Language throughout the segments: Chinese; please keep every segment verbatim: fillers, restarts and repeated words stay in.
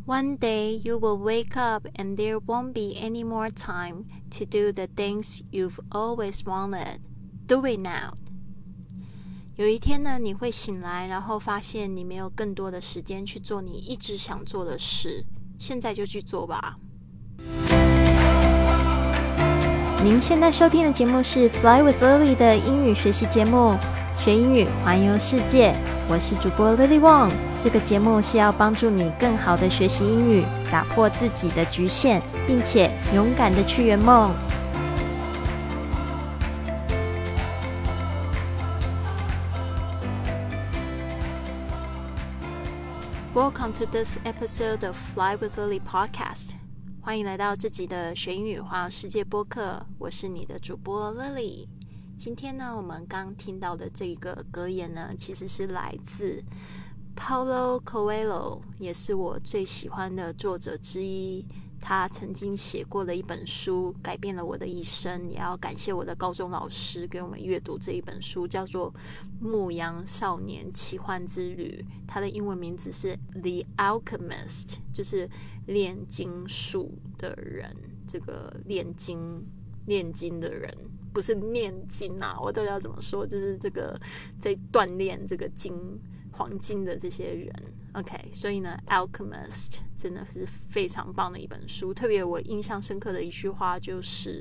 One day you will wake up and there won't be any more time to do the things you've always wanted. Do it now. 有一天呢，你会醒来，然后发现你没有更多的时间去做你一直想做的事，现在就去做吧。您现在收听的节目是 Fly with Lily 的英语学习节目，学英语环游世界。我是主播 Lily Wong， 这个节目是要帮助你更好的学习英语，打破自己的局限，并且勇敢的去圆梦。Welcome to this episode of Fly with Lily podcast. 欢迎来到这集的学英语环游世界播客，我是你的主播 Lily。今天呢，我们刚听到的这个格言呢，其实是来自 Paulo Coelho， 也是我最喜欢的作者之一。他曾经写过的一本书，改变了我的一生。也要感谢我的高中老师给我们阅读这一本书，叫做《牧羊少年奇幻之旅》。它的英文名字是 The Alchemist， 就是炼金术的人。这个炼金炼金的人，不是念金啊，我到底要怎么说？就是这个在锻炼这个金黄金的这些人。OK， 所以呢 Alchemist 真的是非常棒的一本书。特别我印象深刻的一句话就是，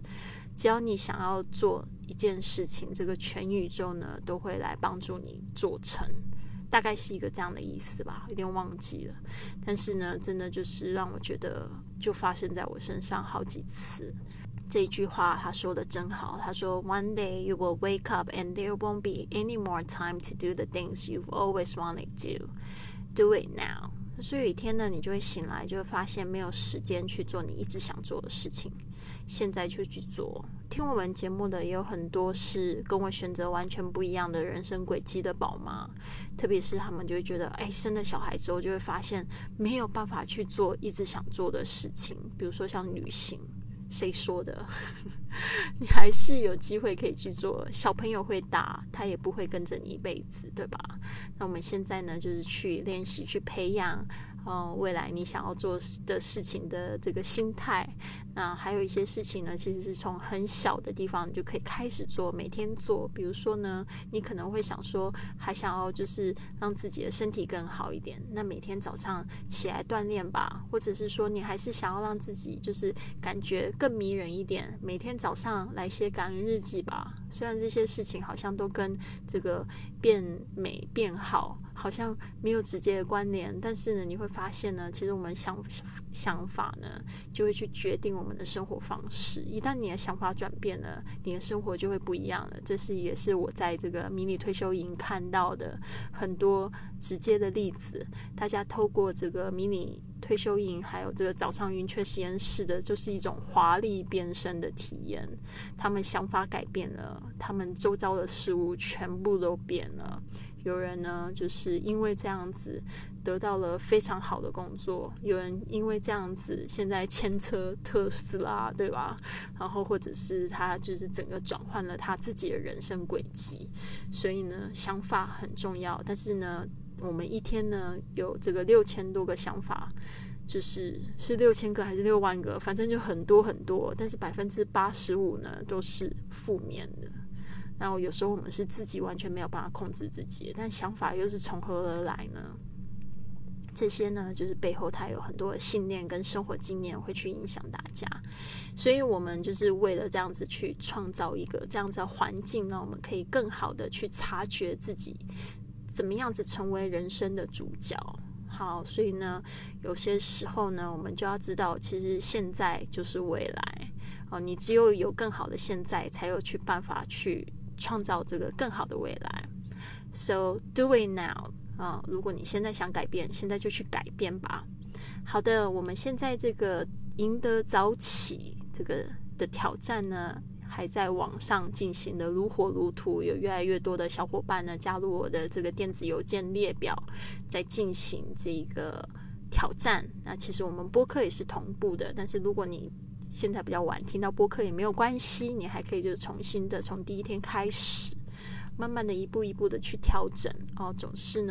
只要你想要做一件事情，这个全宇宙呢都会来帮助你做成。大概是一个这样的意思吧，有点忘记了。但是呢，真的就是让我觉得就发生在我身上好几次。这一句话他说的真好，他说 One day you will wake up and there won't be any more time to do the things you've always wanted to. Do it now. 所以有一天呢，你就会醒来，就会发现没有时间去做你一直想做的事情，现在就去做。听我们节目的也有很多是跟我选择完全不一样的人生轨迹的宝妈，特别是他们就会觉得，哎，生了小孩之后就会发现没有办法去做一直想做的事情，比如说像旅行。谁说的？你还是有机会可以去做。小朋友会大，他也不会跟着你一辈子，对吧？那我们现在呢，就是去练习，去培养呃，未来你想要做的事情的这个心态。那还有一些事情呢，其实是从很小的地方你就可以开始做，每天做。比如说呢，你可能会想说，还想要就是让自己的身体更好一点，那每天早上起来锻炼吧。或者是说，你还是想要让自己就是感觉更迷人一点，每天早上来写感恩日记吧。虽然这些事情好像都跟这个变美变好好像没有直接的关联，但是呢，你会发现呢，其实我们想想法呢，就会去决定我们的生活方式。一旦你的想法转变了，你的生活就会不一样了。这是也是我在这个迷你退休营看到的很多直接的例子。大家透过这个迷你退休营，还有这个早上云雀实验室的，就是一种华丽变身的体验。他们想法改变了，他们周遭的事物全部都变了。有人呢，就是因为这样子得到了非常好的工作，有人因为这样子现在牵车特斯拉，对吧？然后或者是他就是整个转换了他自己的人生轨迹。所以呢，想法很重要，但是呢，我们一天呢有这个六千多个想法，就是是六千个还是六万个，反正就很多很多，但是百分之八十五呢都是负面的。然后有时候我们是自己完全没有办法控制自己，但想法又是从何而来呢？这些呢，就是背后它有很多的信念跟生活经验会去影响大家。所以我们就是为了这样子去创造一个这样子的环境呢，我们可以更好的去察觉自己怎么样子成为人生的主角。好，所以呢，有些时候呢，我们就要知道，其实现在就是未来。哦，你只有有更好的现在，才有去办法去创造这个更好的未来。So do it now. 啊，如果你现在想改变，现在就去改变吧。好的，我们现在这个赢得早起这个的挑战呢，还在网上进行的如火如荼，有越来越多的小伙伴呢加入我的这个电子邮件列表，在进行这个挑战。那其实我们播客也是同步的，但是如果你现在比较晚听到播客也没有关系，你还可以就是重新的从第一天开始，慢慢的一步一步的去调整哦。总是呢，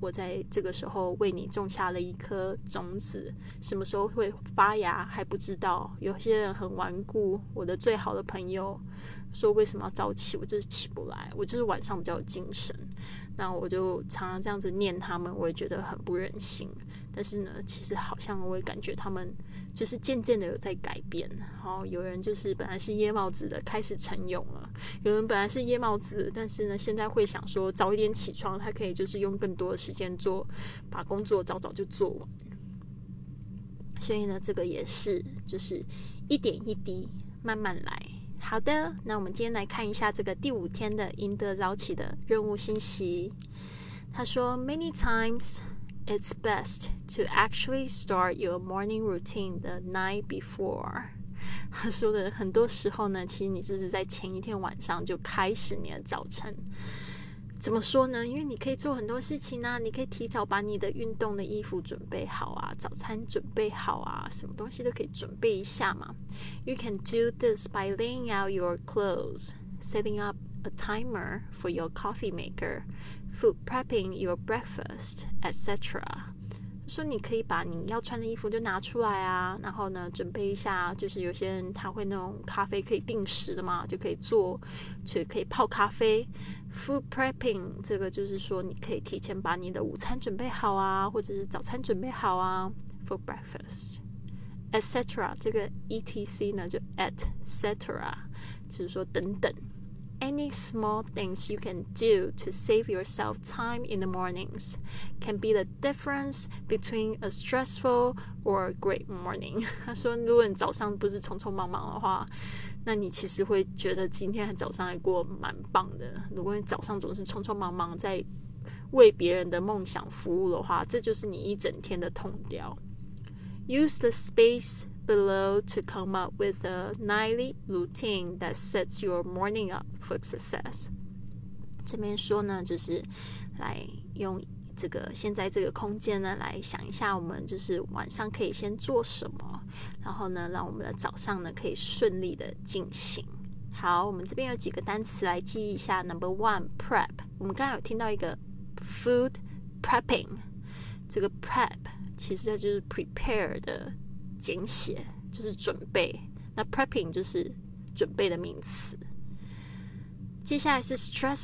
我在这个时候为你种下了一颗种子，什么时候会发芽还不知道。有些人很顽固，我的最好的朋友说为什么要早起，我就是起不来，我就是晚上比较有精神。那我就常常这样子念他们，我也觉得很不忍心。但是呢，其实好像我也感觉他们就是渐渐的有在改变。好，有人就是本来是椰帽子的，开始晨泳了；有人本来是椰帽子，但是呢，现在会想说早一点起床，他可以就是用更多的时间做，把工作早早就做完。所以呢，这个也是就是一点一滴，慢慢来。好的，那我们今天来看一下这个第五天的赢得早起的任务信息。他说 Many times it's best to actually start your morning routine the night before. 他说的很多时候呢，其实你就是在前一天晚上就开始你的早晨。怎么说呢？因为你可以做很多事情啊，你可以提早把你的运动的衣服准备好啊，早餐准备好啊，什么东西都可以准备一下嘛。You can do this by laying out your clothes, setting up a timer for your coffee maker, food prepping your breakfast, et cetera. 说你可以把你要穿的衣服就拿出来啊，然后呢准备一下，就是有些人他会那种咖啡可以定时的嘛，就可以做，就可以泡咖啡。Food prepping 这个就是说你可以提前把你的午餐准备好啊，或者是早餐准备好啊 for breakfast, et cetera. 这个 etc 呢就 et cetera， 就是说等等。Any small things you can do to save yourself time in the mornings can be the difference between a stressful or a great morning. 他说如果你早上不是匆匆忙忙的话，那你其实会觉得今天早上还过蛮棒的。如果你早上总是匆匆忙忙在为别人的梦想服务的话，这就是你一整天的痛调。Use the space below to come up with a nightly routine that sets your morning up for success. 这边说呢，就是来用这个现在这个空间呢，来想一下我们就是晚上可以先做什么，然后呢，让我们的早上呢可以顺利的进行。好，我们这边有几个单词来记忆一下。Number one, prep. 我们刚才有听到一个 food prepping， 这个 prep 其实它就是 prepare 的简写，就是准备。那 prepping 就是准备的名词。接下来是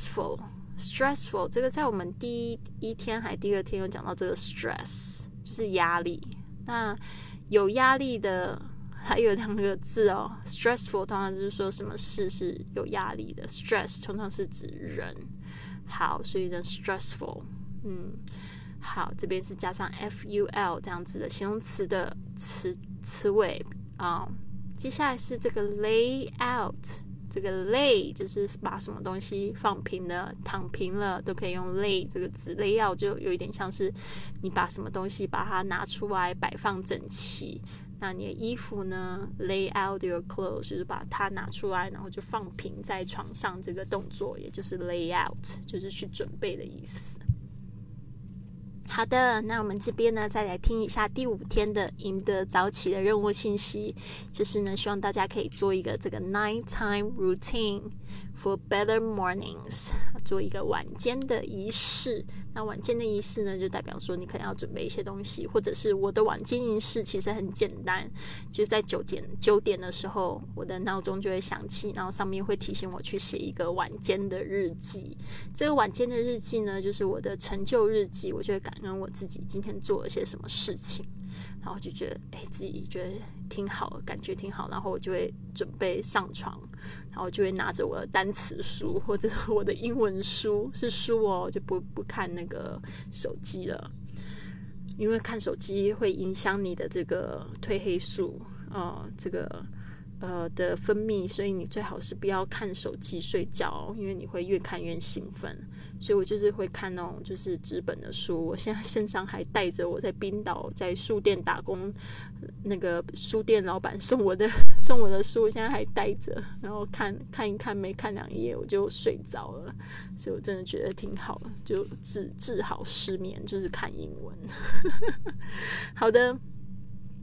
stressful。stressful 这个在我们第一一天还第二天有讲到这个 stress， 就是压力。那有压力的还有两个字哦 ，stressful 通常就是说什么事是有压力的 ，stress 通常是指人。好，所以呢 stressful， 嗯，好，这边是加上 ful 这样子的形容词的词词尾啊、嗯。接下来是这个 lay out。这个 lay 就是把什么东西放平了、躺平了，都可以用 lay 这个字。lay out 就有一点像是你把什么东西把它拿出来摆放整齐。那你的衣服呢 lay out your clothes 就是把它拿出来，然后就放平在床上，这个动作也就是 lay out， 就是去准备的意思。好的，那我们这边呢，再来听一下第五天的赢得早起的任务信息，就是呢，希望大家可以做一个这个 nighttime routine for better mornings， 做一个晚间的仪式。那晚间的仪式呢，就代表说你可能要准备一些东西，或者是我的晚间仪式其实很简单，就在九点九点的时候，我的闹钟就会响起，然后上面会提醒我去写一个晚间的日记。这个晚间的日记呢，就是我的成就日记，我就会感恩我自己今天做了些什么事情，然后就觉得哎，自己觉得挺好，感觉挺好，然后我就会准备上床，然后就会拿着我的单词书或者是我的英文书，是书哦，就不不看那个手机了，因为看手机会影响你的这个褪黑素，呃，这个呃的分泌，所以你最好是不要看手机睡觉，因为你会越看越兴奋。所以我就是会看那种就是纸本的书，我现在身上还带着我在冰岛在书店打工那个书店老板送我的送我的书，我现在还带着，然后看看一看，没看两页我就睡着了，所以我真的觉得挺好，就治治好失眠，就是看英文。好的，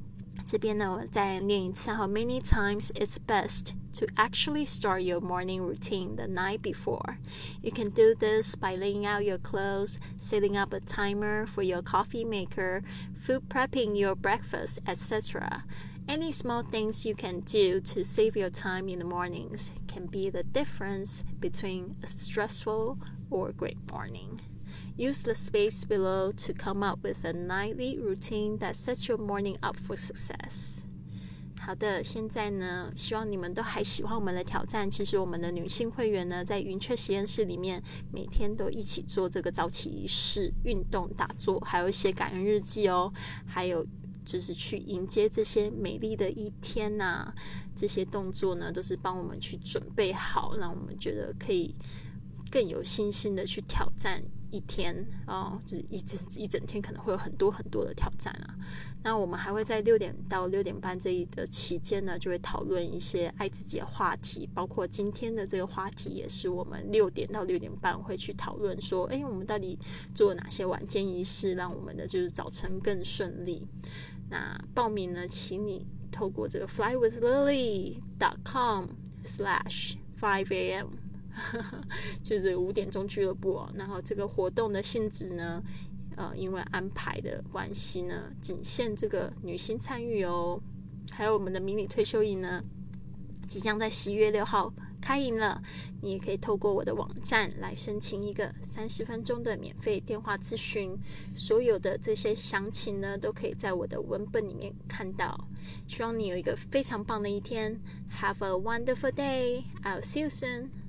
这边呢，我再念一次哈。Many times it's best to actually start your morning routine the night before. You can do this by laying out your clothes, setting up a timer for your coffee maker, food prepping your breakfast, et cetera.Any small things you can do to save your time in the mornings can be the difference between a stressful or a great morning. Use the space below to come up with a nightly routine that sets your morning up for success. 好的，现在呢，希望你们都还喜欢我们的挑战。其实我们的女性会员呢，在云雀实验室里面，每天都一起做这个早起仪式、运动、打坐，还有写感恩日记哦，还有就是去迎接这些美丽的一天啊，这些动作呢，都是帮我们去准备好，让我们觉得可以更有信心的去挑战一天哦，就是一整一整天可能会有很多很多的挑战啊。那我们还会在六点到六点半这一的期间呢，就会讨论一些爱自己的话题，包括今天的这个话题也是我们六点到六点半会去讨论说，哎，我们到底做了哪些晚间仪式，让我们的就是早晨更顺利。那报名呢，请你透过这个 fly with lily dot com slash five a m 就是五点钟俱乐部哦。然后这个活动的性质呢，呃，因为安排的关系呢，仅限这个女性参与哦。还有我们的迷你退休营呢，即将在十一月六号开营了，你也可以透过我的网站来申请一个三十分钟的免费电话咨询，所有的这些详情呢，都可以在我的文本里面看到。希望你有一个非常棒的一天。Have a wonderful day. I'll see you soon.